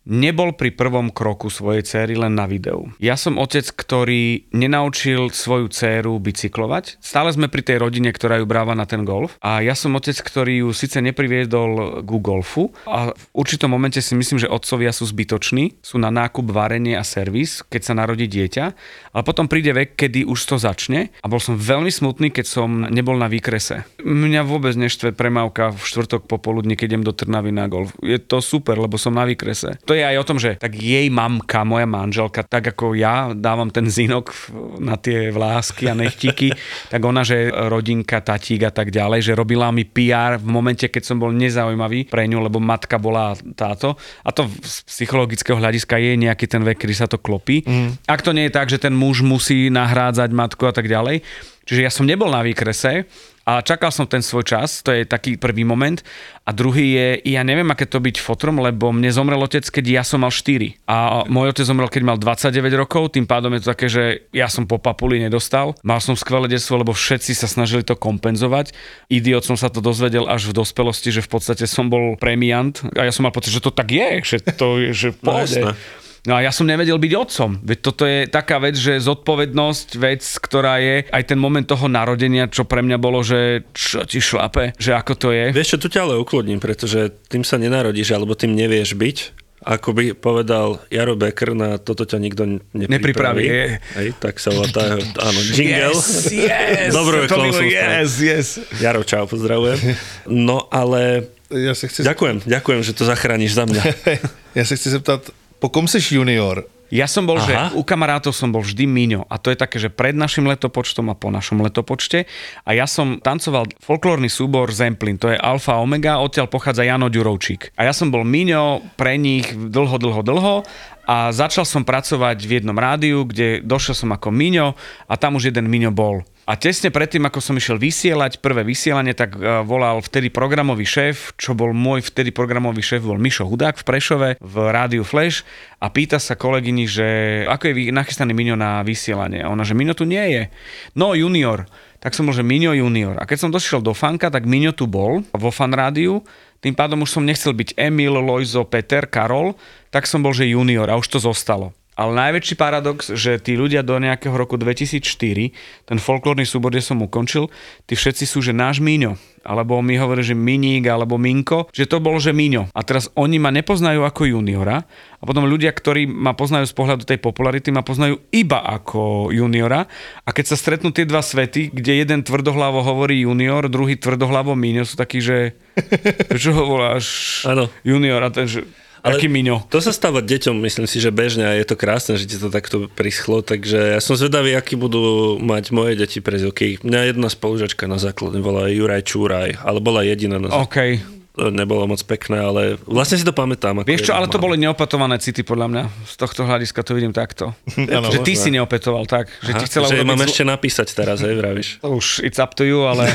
nebol pri prvom kroku svojej céry len na videu. Ja som otec, ktorý nenaučil svoju dcéru bicyklovať. Stále sme pri tej rodine, ktorá ju bráva na ten golf. A ja som otec, ktorý ju síce nepriviedol ku golfu a v určitom momente si myslím, že otcovia sú zbytoční, sú na nákup, varenie a servis, keď sa narodí dieťa, ale potom príde vek, kedy už to začne a bol som veľmi smutný, keď som nebol na výkrese. Mňa vôbec neštve premávka v štvrtok popoludní, keď idem do Trnavy na golf. Je to super, lebo som na výkrese. To je aj o tom, že tak jej mamka, moja manželka, tak ako ja dávam ten zinok na tie vlásky a nechtíky, tak ona, že rodinka, tatík a tak ďalej, že robila mi PR v momente, keď som bol nezaujímavý pre ňu, lebo matka bola táto. A to z psychologického hľadiska je nejaký ten vek, kedy sa to klopí. Ak to nie je tak, že ten muž musí nahrádzať matku a tak ďalej. Čiže ja som nebol na výkrese a čakal som ten svoj čas, to je taký prvý moment. A druhý je, ja neviem, aké to byť fotrom, lebo mne zomrel otec, keď ja som mal 4. A môj otec zomrel, keď mal 29 rokov, tým pádom je to také, že ja som po papuli nedostal. Mal som skvelé detstvo, lebo všetci sa snažili to kompenzovať. Idiot som sa to dozvedel až v dospelosti, že v podstate som bol premiant. A ja som mal pocit, že to tak je, že to je, že pôjde. No a ja som nevedel byť otcom. Veď toto je taká vec, že zodpovednosť, vec, ktorá je aj ten moment toho narodenia, čo pre mňa bolo, že čo ti šlape, že ako to je. Vieš čo, tu ťa ale uklodním, pretože tým sa nenarodíš, alebo tým nevieš byť. Ako by povedal Jaro Becker, na toto ťa nikto nepripraví. Hej, tak sa volá tá, áno, jingle. Yes, Dobrú reklamku. Yes. Jaro, čau, pozdravujem. No ale Ja sa chci... ďakujem, že to zachrániš za mňa. Ja sa chci zeptat, po kom seš junior? Ja som bol, že u kamarátov som bol vždy Miňo. A to je také, že pred našim letopočtom a po našom letopočte. A ja som tancoval folklórny súbor Zemplín. To je Alfa Omega, odtiaľ pochádza Jano Ďurovčík. A ja som bol Miňo pre nich dlho. A začal som pracovať v jednom rádiu, kde došiel som ako Miňo a tam už jeden Miňo bol. A tesne predtým, ako som išiel vysielať prvé vysielanie, tak volal vtedy programový šéf, čo bol môj vtedy programový šéf, bol Mišo Hudák v Prešove, v rádiu Flash a pýta sa kolegyni, že ako je nachystaný Miňo na vysielanie. A ona, že Miňo tu nie je. No, junior. Tak som bol, že Miňo junior. A keď som došiel do Fanka, tak Miňo tu bol vo Fan rádiu. Tým pádom už som nechcel byť Emil, Lojzo, Peter, Karol, tak som bol, že junior a už to zostalo. Ale najväčší paradox, že tí ľudia do nejakého roku 2004, ten folklórny súbor, kde som ukončil, tí všetci sú, že náš Míňo. Alebo mi hovorí, že Miník, alebo Minko, že to bol, že Míňo. A teraz oni ma nepoznajú ako juniora a potom ľudia, ktorí ma poznajú z pohľadu tej popularity, ma poznajú iba ako juniora. A keď sa stretnú tie dva svety, kde jeden tvrdohlavo hovorí junior, druhý tvrdohlavo Míňo, sú takí, že čo ho voláš junior a ten, že ale aký Miňo. To sa stáva deťom, myslím si, že bežne a je to krásne, že ti to takto prischlo, takže ja som zvedavý, aký budú mať moje deti prezivky. Mňa jedna spolužačka na základne bola Juraj Čúraj, ale bola jediná na základne. To nebolo moc pekné, ale vlastne si to pamätám. Vieš čo, ale to boli neopetované city podľa mňa. Z tohto hľadiska to vidím takto. Že ty si neopetoval tak. Že ti chcela že mám ešte napísať teraz, hej, vravíš. To už it's up to you, ale...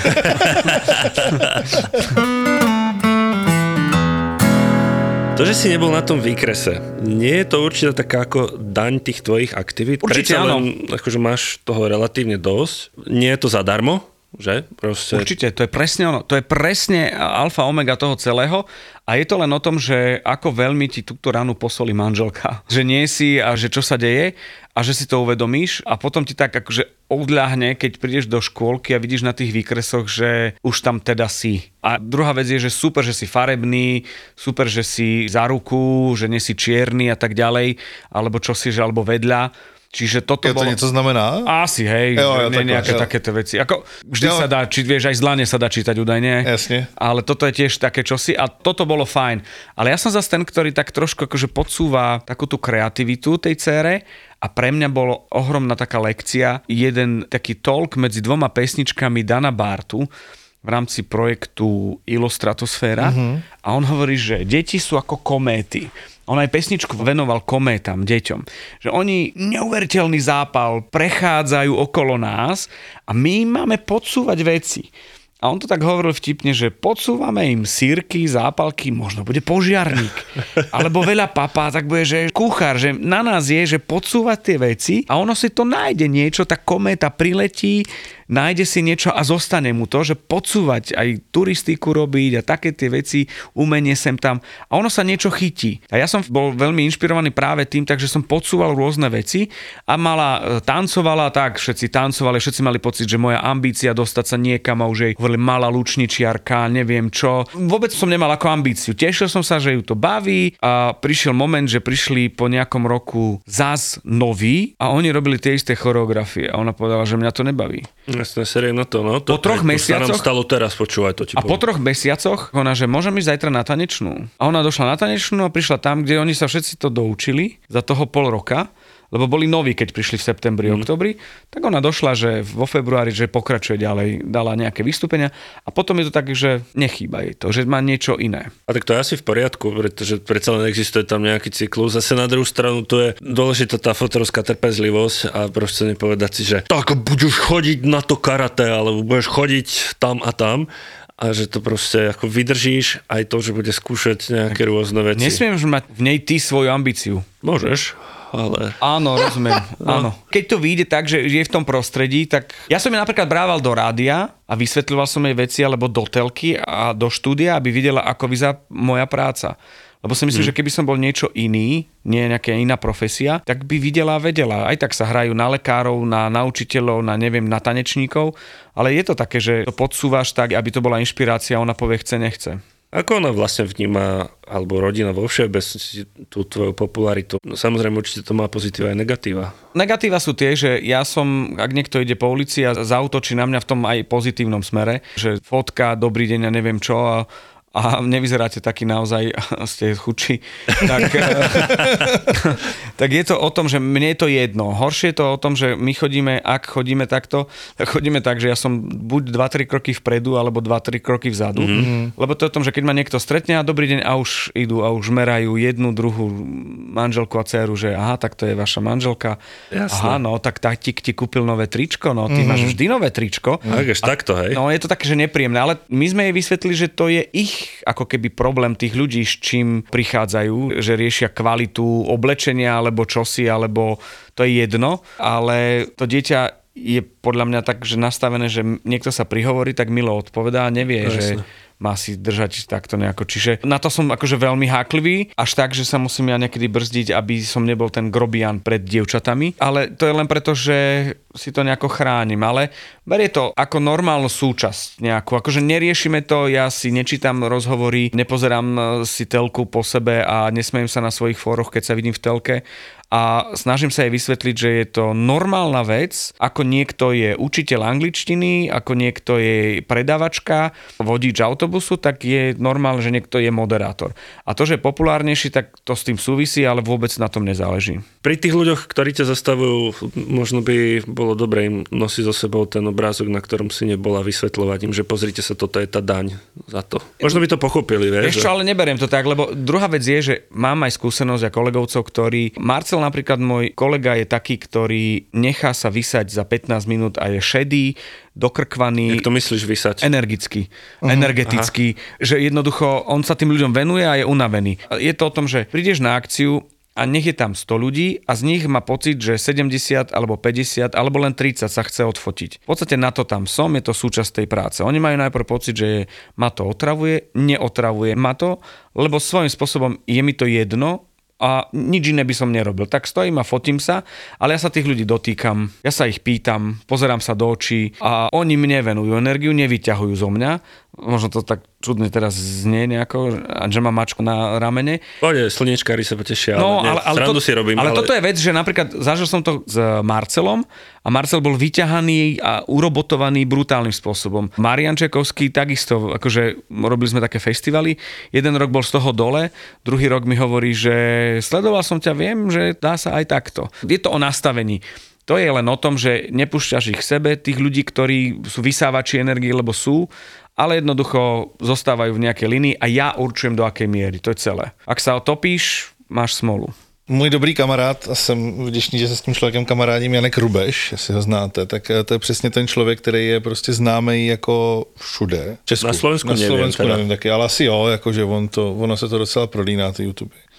To, že si nebol na tom výkrese, nie je to určite taká ako daň tých tvojich aktivít? Určite áno. Akože máš toho relatívne dosť. Nie je to zadarmo, že? Proste... Určite, to je presne ono. To je presne alfa omega toho celého a je to len o tom, že ako veľmi ti túto ranu posolí manželka. Že nie si a že čo sa deje a že si to uvedomíš a potom ti tak akože odľahne, keď prídeš do škôlky a vidíš na tých výkresoch, že už tam teda si. A druhá vec je, že super, že si farebný, super, že si za ruku, že nie si čierny a tak ďalej, alebo čo si, že alebo vedľa. Čiže toto bolo... To niečo znamená? Asi, hej, nejaké takéto veci. Ako vždy sa dá, vieš, aj z dlane sa dá čítať údajne. Jasne. Ale toto je tiež také čosi a toto bolo fajn. Ale ja som zase ten, ktorý tak trošku akože podsúva takú tú kreativitu tej dcére a pre mňa bolo ohromná taká lekcia, jeden taký talk medzi dvoma pesničkami Dana Bartu v rámci projektu Illustratosféra a on hovorí, že deti sú ako kométy. On aj pesničku venoval kométam, deťom. Že oni neuveriteľný zápal prechádzajú okolo nás a my máme podsúvať veci. A on to tak hovoril vtipne, že podsúvame im sírky, zápalky, možno bude požiarník. Alebo veľa papá, tak bude, že kuchár, že na nás je, že podsúvať tie veci a ono si to nájde niečo, tá kométa priletí, nájde si niečo a zostane mu to, že podsúvať aj turistiku robiť a také tie veci, umenie sem tam a ono sa niečo chytí. A ja som bol veľmi inšpirovaný práve tým, takže som podsúval rôzne veci a mala tancovala, tak všetci tancovali, všetci mali pocit, že moja ambícia dostať sa niekam a už jej hovorili malá lučničiarka, neviem čo. Vôbec som nemal ako ambíciu. Tešil som sa, že ju to baví a prišiel moment, že prišli po nejakom roku zás noví a oni robili tie isté choreografie a ona povedala, že mňa to nebaví. Jasne, seriózno to, no. To, po 3 mesiacoch... To sa nám stalo teraz, počúvaj to ti a po 3 mesiacoch ona, že môžem ísť zajtra na tanečnú. A ona došla na tanečnú a prišla tam, kde oni sa všetci to doučili za toho pol roka, lebo boli noví, keď prišli v septembri, oktobri, tak ona došla, že vo februári, že pokračuje ďalej, dala nejaké vystúpenia a potom je to tak, že nechýba jej to, že má niečo iné. A tak to je asi v poriadku, pretože predsa len existuje tam nejaký cyklus. Zase na druhú stranu to je dôležitá tá fotorovská trpezlivosť a proste nepovedať si, že tak budeš chodiť na to karate, alebo budeš chodiť tam a tam. A že to proste ako vydržíš aj to, že bude skúšať nejaké rôzne veci. Nesmieš mať v nej ty svoju ambíciu. Môžeš, ale... Áno, rozumiem. Áno. Keď to vyjde tak, že je v tom prostredí, tak ja som ju napríklad brával do rádia a vysvetľoval som jej veci alebo do telky a do štúdia, aby videla, ako vyzerá moja práca. Lebo si myslím, že keby som bol niečo iný, nie nejaká iná profesia, tak by videla a vedela. Aj tak sa hrajú na lekárov, na učiteľov, na neviem, na tanečníkov, ale je to také, že to podsúvaš tak, aby to bola inšpirácia, ona povie chce, nechce. Ako ona vlastne vníma, alebo rodina vo všeobecnosti tú tvoju popularitu? No, samozrejme, určite to má pozitíva aj negatíva. Negatíva sú tie, že ja som, ak niekto ide po ulici a zaútočí na mňa v tom aj pozitívnom smere, že fotka, dobrý deň a neviem čo a nevyzeráte taký naozaj, ste chudší, tak je to o tom, že mne je to jedno. Horšie je to o tom, že my ak chodíme takto, tak chodíme tak, že ja som buď 2-3 kroky vpredu, alebo 2-3 kroky vzadu. Lebo to je o tom, že keď ma niekto stretne a dobrý deň a už idú a už merajú jednu, druhú manželku a dcéru, že aha, tak to je vaša manželka. Jasne. Aha, no, tak tatík ti kúpil nové tričko, no, ty máš vždy nové tričko. Takto, hej. No, je to také, že nepríjemné, ale my sme jej vysvetlili, že to je ich ako keby problém tých ľudí, s čím prichádzajú, že riešia kvalitu oblečenia alebo čosi, alebo to je jedno, ale to dieťa je podľa mňa tak, že nastavené, že niekto sa prihovorí, tak milo odpovedá a nevie, že má si držať takto nejako. Čiže na to som akože veľmi háklivý, až tak, že sa musím ja niekedy brzdiť, aby som nebol ten grobian pred dievčatami. Ale to je len preto, že si to nejako chránim. Ale berie to ako normálnu súčasť nejakú. Akože neriešime to, ja si nečítam rozhovory, nepozerám si telku po sebe a nesmejem sa na svojich fóroch, keď sa vidím v telke. A snažím sa jej vysvetliť, že je to normálna vec, ako niekto je učiteľ angličtiny, ako niekto je predavačka, vodič autobusu, tak je normálne, že niekto je moderátor. A to, že je populárnejší, tak to s tým súvisí, ale vôbec na tom nezáleží. Pri tých ľuďoch, ktorí ťa zastavujú, možno by bolo dobre im nosiť so sebou ten obrázok, na ktorom si nebola, vysvetľovať im, že pozrite sa, toto je tá daň za to. Možno by to pochopili, vieš? Ešte, ale neberiem to tak, lebo druhá vec je, že mám aj skúsenosť a kolegovcov, ktorí Marcel napríklad môj kolega je taký, ktorý nechá sa vysať za 15 minút a je šedý, dokrkvaný. Jak to myslíš vysať? Energetický, že jednoducho on sa tým ľuďom venuje a je unavený. Je to o tom, že prídeš na akciu a nech je tam 100 ľudí a z nich má pocit, že 70 alebo 50 alebo len 30 sa chce odfotiť. V podstate na to tam som, je to súčasť tej práce. Oni majú najprv pocit, že ma to otravuje, neotravuje ma to, lebo svojím spôsobom je mi to jedno, a nič iné by som nerobil. Tak stojím a fotím sa, ale ja sa tých ľudí dotýkam, ja sa ich pýtam, pozerám sa do očí a oni mne venujú energiu, nevyťahujú zo mňa. Možno to tak čudne teraz znie nejako, že má mačku na ramene. Poďte, slniečkári sa potešia, ale si robím. Ale toto je vec, že napríklad zažil som to s Marcelom a Marcel bol vyťahaný a urobotovaný brutálnym spôsobom. Marian Čekovský takisto, akože robili sme také festivaly, jeden rok bol z toho dole, druhý rok mi hovorí, že sledoval som ťa, viem, že dá sa aj takto. Je to o nastavení. To je len o tom, že nepúšťaš ich k sebe, tých ľudí, ktorí sú vysávači energie, lebo sú, ale jednoducho zostávajú v nejakej linii a ja určujem, do akej miery. To je celé. Ak sa otopíš, máš smolu. Můj dobrý kamarád, a jsem vděčný, že se s tím člověkem kamarádím, Janek Rubeš, jestli ho znáte, tak to je přesně ten člověk, který je prostě známý jako všude. Česku. Na Slovensku nevím taky, ale asi jo, jakože ono se to docela prolíná, ty YouTube.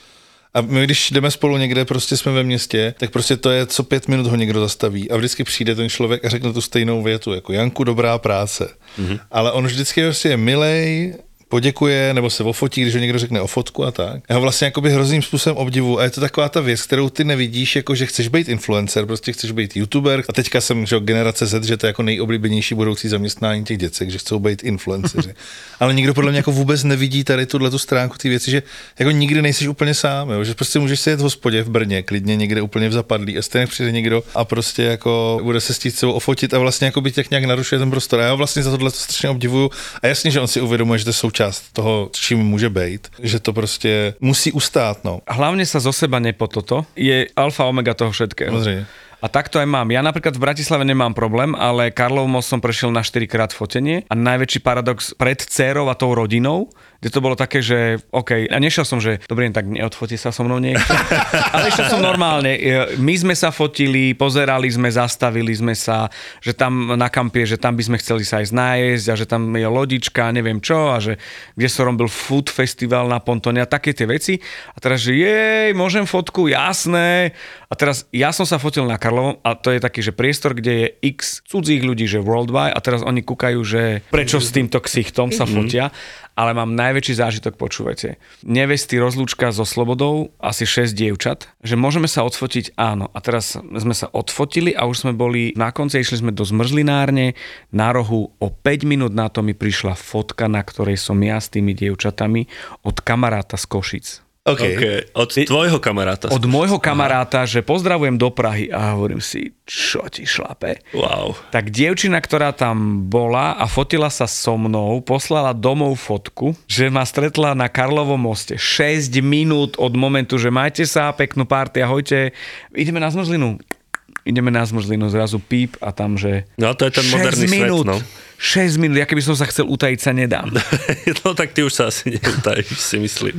A my, když jdeme spolu někde, prostě jsme ve městě, tak prostě to je, co 5 minut ho někdo zastaví a vždycky přijde ten člověk a řekne tu stejnou větu, jako Janku, dobrá práce. Ale on vždycky prostě je milej, poděkuje nebo se ofotí, když ho někdo řekne o fotku a tak. Já ho vlastně jakoby hrozným způsobem obdivu a je to taková ta věc, kterou ty nevidíš, jako že chceš být influencer, prostě chceš být youtuber a teďka jsem, že generace Z, že to je jako nejoblíbenější budoucí zaměstnání těch děcek, že chcou být influenceři. Ale nikdo podle mě jako vůbec nevidí tady tu stránku ty věci, že jako nikdy nejsiš úplně sám, jo? Že prostě můžeš sedět v hospodě v Brně, klidně někde úplně v Zapadlí a stejně přijde někdo a prostě jako bude se s sebou ofotit a vlastně jako by těch nějak narušuje ten prostor. A já ho vlastně za tohle to strašně obdivuju a jasně, že on si uvědomuje, že to je součást toho, čím může být, že to prostě musí ustát, no. Hlavne sa zo seba nepo toto je alfa omega toho všetkého. Samozrejme. A takto aj mám. Ja napríklad v Bratislave nemám problém, ale Karlov most som prešiel na 4-krát fotenie a najväčší paradox pred dcérou a tou rodinou, kde to bolo také, že OK, a nešiel som, že dobrý, tak neodfotí sa so mnou niekto. Ale išiel som normálne. My sme sa fotili, pozerali sme, zastavili sme sa, že tam na kampie, že tam by sme chceli sa aj nájsť a že tam je lodička, neviem čo, a že kde som robil food festival na Pontone a také tie veci. A teraz, že jej, môžem fotku, jasné. A teraz ja som sa fotil na Karlovom a to je taký, že priestor, kde je x cudzích ľudí, že worldwide a teraz oni kúkajú, že prečo s týmto ksichtom sa fotia. Ale mám najväčší zážitok, počúvajte. Nevesty, rozlúčka so Slobodou, asi 6 dievčat, že môžeme sa odfotiť, áno. A teraz sme sa odfotili a už sme boli na konci, išli sme do zmrzlinárne, na rohu o 5 minút na to mi prišla fotka, na ktorej som ja s tými dievčatami od kamaráta z Košic. Okay. Od tvojho kamaráta. Od môjho kamaráta, že pozdravujem do Prahy a hovorím si, čo ti šlape. Wow. Tak dievčina, ktorá tam bola a fotila sa so mnou, poslala domov fotku, že ma stretla na Karlovom moste. 6 minút od momentu, že majte sa, peknú party, ahojte, ideme na zmrzlinu. Ideme na zmrzlinu, zrazu píp a tam, že... No to je ten moderný minút, svet, no. 6 minút, ja keby som sa chcel utajiť, sa nedám. No tak ty už sa asi neutajíš, si myslím.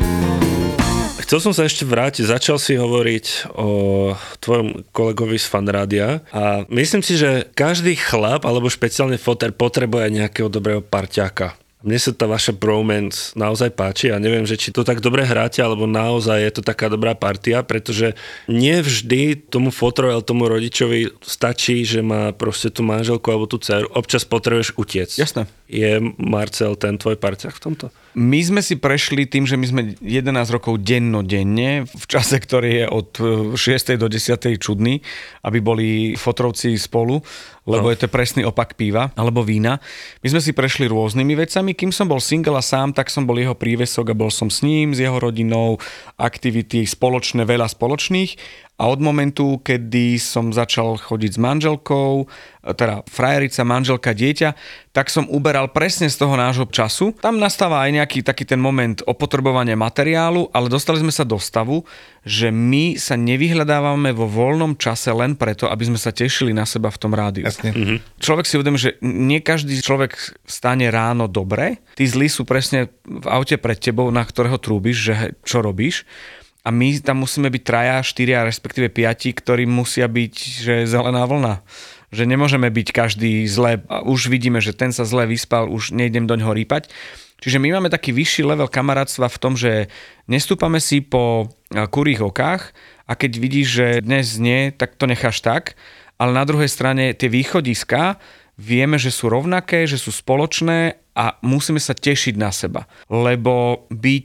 Chcel som sa ešte vrátiť, začal si hovoriť o tvojom kolegovi z Fanrádia a myslím si, že každý chlap, alebo špeciálne foter, potrebuje nejakého dobrého parťáka. Mne sa tá vaša bromance naozaj páči a neviem, že či to tak dobre hráte, alebo naozaj je to taká dobrá partia, pretože nie vždy tomu fotrovi alebo tomu rodičovi stačí, že má proste tú manželku alebo tú dceru. Občas potrebuješ utiec. Jasné. Je Marcel ten tvoj parťák v tomto? My sme si prešli tým, že my sme 11 rokov dennodenne, v čase, ktorý je od 6. do 10. čudný, aby boli fotrovci spolu, lebo je to presný opak piva alebo vína. My sme si prešli rôznymi vecami. Kým som bol single a sám, tak som bol jeho prívesok a bol som s ním, s jeho rodinou, aktivity spoločné, veľa spoločných. A od momentu, kedy som začal chodiť s manželkou, teda frajerica, manželka, dieťa, tak som uberal presne z toho nášho času. Tam nastáva aj nejaký taký ten moment opotrebovania materiálu, ale dostali sme sa do stavu, že my sa nevyhľadávame vo voľnom čase len preto, aby sme sa tešili na seba v tom rádiu. Človek si uvedomí, že nie každý človek vstane ráno dobre. Tí zlí sú presne v aute pred tebou, na ktorého trúbiš, že čo robíš. A my tam musíme byť 3, 4, respektíve 5, ktorí musia byť, že zelená vlna. Že nemôžeme byť každý zle. A už vidíme, že ten sa zle vyspal, už nejdem do ňoho rýpať. Čiže my máme taký vyšší level kamarátstva v tom, že nestúpame si po kurých okách a keď vidíš, že dnes nie, tak to necháš tak. Ale na druhej strane tie východiská vieme, že sú rovnaké, že sú spoločné a musíme sa tešiť na seba. Lebo byť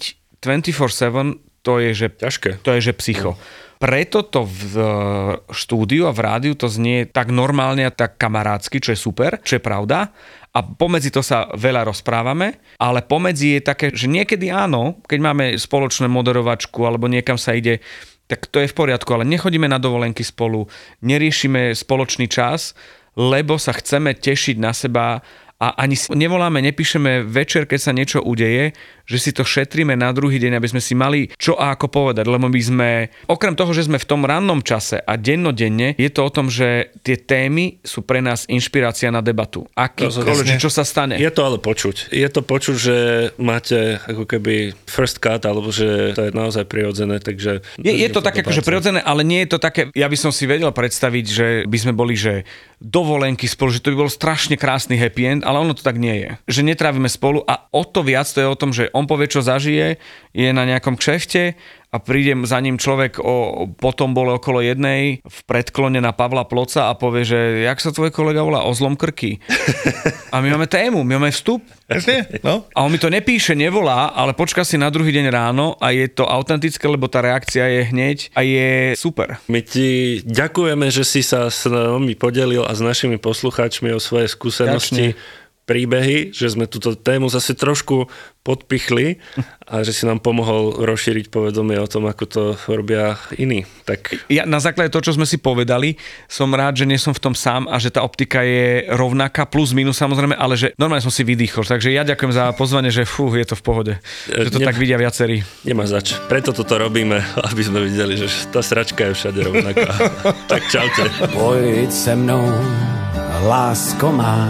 24/7 to je, že ťažké. To je, že psycho. Preto to v štúdiu a v rádiu to znie tak normálne a tak kamarátsky, čo je super, čo je pravda. A pomedzi to sa veľa rozprávame, ale pomedzi je také, že niekedy áno, keď máme spoločnú moderovačku alebo niekam sa ide, tak to je v poriadku, ale nechodíme na dovolenky spolu, neriešime spoločný čas, lebo sa chceme tešiť na seba a ani nevoláme, nepíšeme večer, keď sa niečo udeje, že si to šetríme na druhý deň, aby sme si mali čo a ako povedať, lebo my sme, okrem toho, že sme v tom rannom čase a dennodenne, je to o tom, že tie témy sú pre nás inšpirácia na debatu. Akýkoľvek, čo sa stane. Je to ale počuť. Je to počuť, že máte ako keby first cut, alebo že to je naozaj prirodzené, takže... Je to také akože prirodzené, ale nie je to také, ja by som si vedel predstaviť, že by sme boli, že dovolenky spolu, že to by bol strašne krásny happy end, ale ono to tak nie je. Že netrávime spolu a o to viac to je o tom, že on povie, čo zažije, je na nejakom kšefte a príde za ním človek potom bol okolo jednej v predklone na Pavla Ploca a povie, že jak sa tvoj kolega volá, o zlom krky. A my máme tému, my máme vstup. Jasne, no. A on mi to nepíše, nevolá, ale počká si na druhý deň ráno a je to autentické, lebo tá reakcia je hneď a je super. My ti ďakujeme, že si sa s nami podelil a s našimi poslucháčmi o svoje skúsenosti. Ďačne. Príbehy, že sme túto tému zase trošku podpichli a že si nám pomohol rozšíriť povedomie o tom, ako to robia iní. Tak... Ja na základe toho, čo sme si povedali, som rád, že nie som v tom sám a že tá optika je rovnaká, plus minus samozrejme, ale že normálne som si vydýchol. Takže ja ďakujem za pozvanie, že je to v pohode. Že to tak vidia viacerí. Nemá zač. Preto toto robíme, aby sme videli, že tá sračka je všade rovnaká. Tak čaute. Pojď se mnou, lásko má.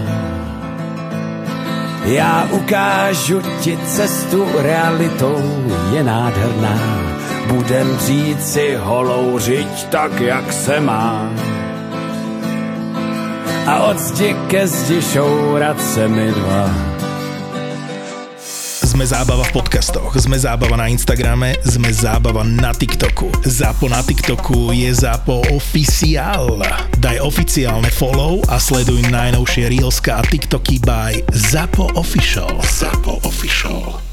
Já ukážu ti cestu, realitou je nádherná. Budem žít si holou řiď tak, jak se má. A od zdi ke zdi šourat se mi dva. Sme zábava v podcastoch, sme zábava na Instagrame, sme zábava na TikToku. Zapo na TikToku je Zapo Oficiál. Daj oficiálne follow a sleduj najnovšie reelska a TikToky by Zapo Official. Zapo Official.